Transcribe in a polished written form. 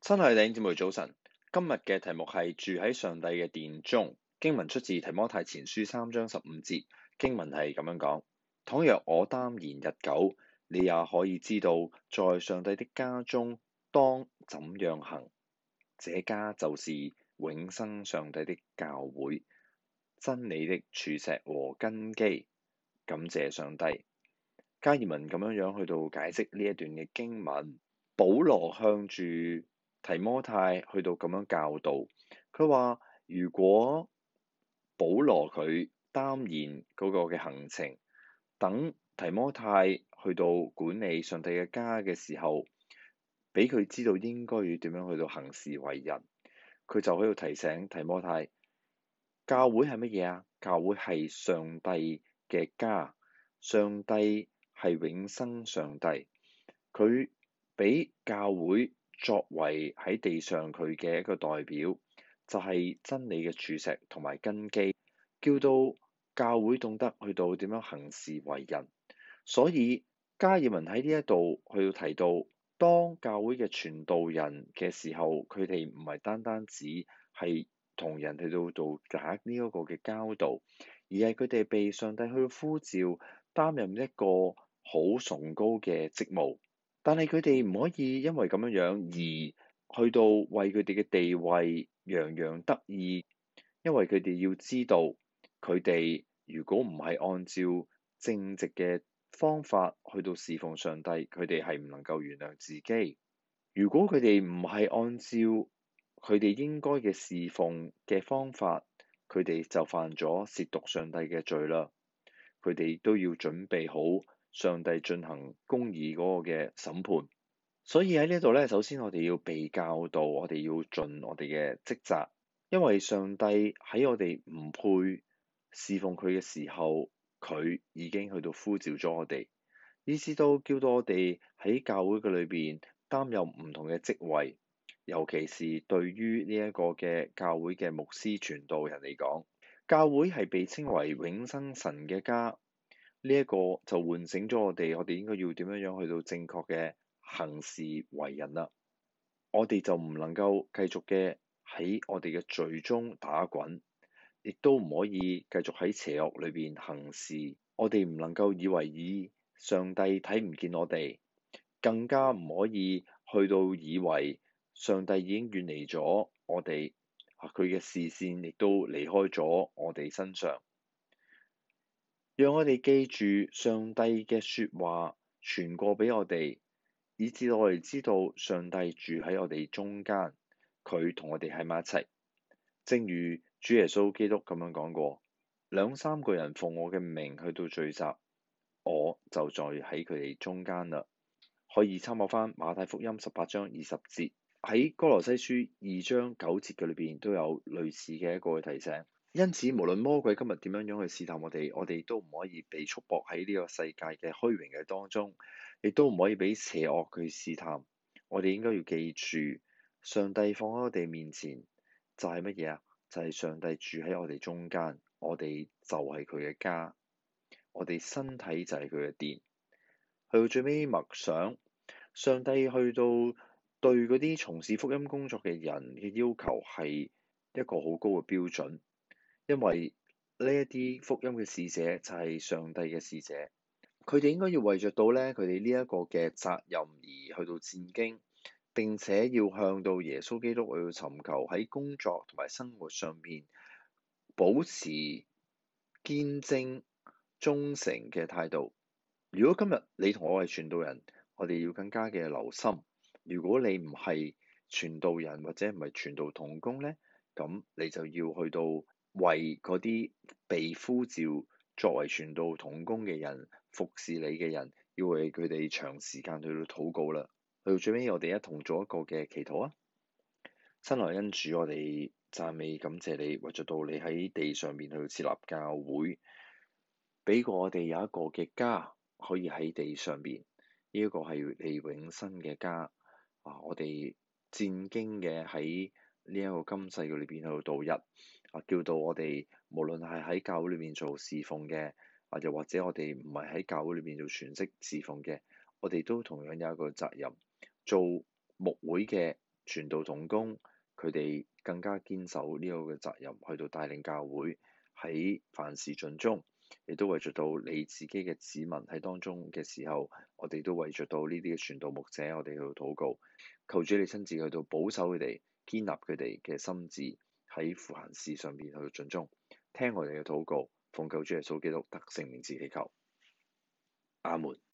親愛的弟兄姊妹早晨，今日嘅題目係住喺上帝嘅殿中。經文出自提摩太前書3章15節，經文係咁樣講：倘若我耽延日久，你也可以知道，在上帝的家中當怎樣行。這家就是永生上帝的教會，真理的柱石和根基。感謝上帝。加爾文咁樣去到解釋呢一段嘅經文。保羅向住提摩太去到咁樣教導，佢話如果保羅佢耽延嗰個嘅行程，等提摩太去到管理上帝嘅家嘅時候，俾佢知道應該要點樣去到行事為人，佢就喺度提醒提摩太，教會係乜嘢啊？教會係上帝嘅家，上帝係永生上帝，佢俾教會作為喺地上佢嘅一個代表，就係真理嘅柱石同埋根基，叫到教會懂得去到點樣行事為人。所以加爾文喺呢一度去到提到，當教會嘅傳道人嘅時候，佢哋唔係單單只係同人去到打呢一個嘅交道，而係佢哋被上帝去到呼召擔任一個好崇高嘅職務。但係佢哋唔可以因為咁樣而去到為佢哋嘅地位洋洋得意，因為佢哋要知道，佢哋如果唔係按照正直嘅方法去到侍奉上帝，佢哋係唔能夠原諒自己。如果佢哋唔係按照佢哋應該嘅侍奉嘅方法，佢哋就犯咗褻瀆上帝嘅罪啦。佢哋都要準備好上帝進行公義嗰個嘅審判。所以喺呢度咧，首先我哋要被教導，我哋要盡我哋嘅職責，因為上帝喺我哋唔配侍奉佢嘅時候，佢已經去到呼召咗我哋，以至到叫到我哋喺教會嘅裏邊擔任唔同嘅職位，尤其是對於呢一個嘅教會嘅牧師傳道人嚟講，教會係被稱為永生神嘅家。呢一個就喚醒咗我哋應該要點樣去到正確嘅行事為人啦。我哋就唔能夠繼續嘅喺我哋嘅罪中打滾，亦都唔可以繼續喺邪惡裏邊行事。我哋唔能夠以為上帝睇唔見我哋，更加唔可以去到以為上帝已經遠離咗我哋，佢嘅視線亦都離開咗我哋身上。讓我哋記住上帝嘅説話傳過俾我哋，以至我哋知道上帝住喺我哋中間，佢同我哋喺埋一齊。正如主耶穌基督咁樣講過，2-3個人奉我嘅名去到聚集，我就在喺佢哋中間啦。可以參考翻馬太福音18章20節，喺哥羅西書2章9節嘅裏邊都有類似嘅一個提醒。因此，無論魔鬼今日點樣去試探我哋都唔可以被束縛喺呢個世界嘅虛榮嘅當中，亦都唔可以俾邪惡去試探。我哋應該要記住，上帝放喺我哋面前就係乜嘢啊？就係上帝住喺我哋中間，我哋就係佢嘅家，我哋身體就係佢嘅殿。去到最尾默想，上帝去到對嗰啲從事福音工作嘅人嘅要求係一個好高嘅標準。因為呢一啲福音嘅使者就係上帝嘅使者，佢哋應該要為着到咧佢哋呢一個嘅責任而去到戰兢，並且要向到耶穌基督去到尋求喺工作同埋生活上面保持堅貞忠誠嘅態度。如果今日你同我係傳道人，我哋要更加嘅留心。如果你唔係傳道人或者唔係傳道同工咧，咁你就要去到為嗰啲被呼召作為傳道同工嘅人，服侍你嘅人，要為佢哋長時間去到禱告啦。去到最尾，我哋一同做一個嘅祈禱啊！親愛恩主，我哋讚美感謝你，為咗到你喺地上面去設立教會，俾過我哋有一個嘅家可以喺地上邊，呢一個係你永生嘅家啊！我哋戰兢嘅喺呢一個今世嘅裏邊去到度日啊，叫到我哋無論係喺教會裏面做侍奉嘅，又或者我哋唔係喺教會裏面做全職侍奉嘅，我哋都同樣有一個責任，做牧會嘅傳道同工，佢哋更加堅守呢個嘅責任，去到帶領教會喺凡事盡忠，亦都為著到你自己嘅子民喺當中嘅時候，我哋都為著到呢啲嘅傳道牧者，我哋去到禱告，求主你親自去到保守佢哋，堅立佢哋嘅心志喺凡事上邊去到盡忠，聽我哋嘅禱告，奉救主耶穌基督得勝名字祈求，阿門。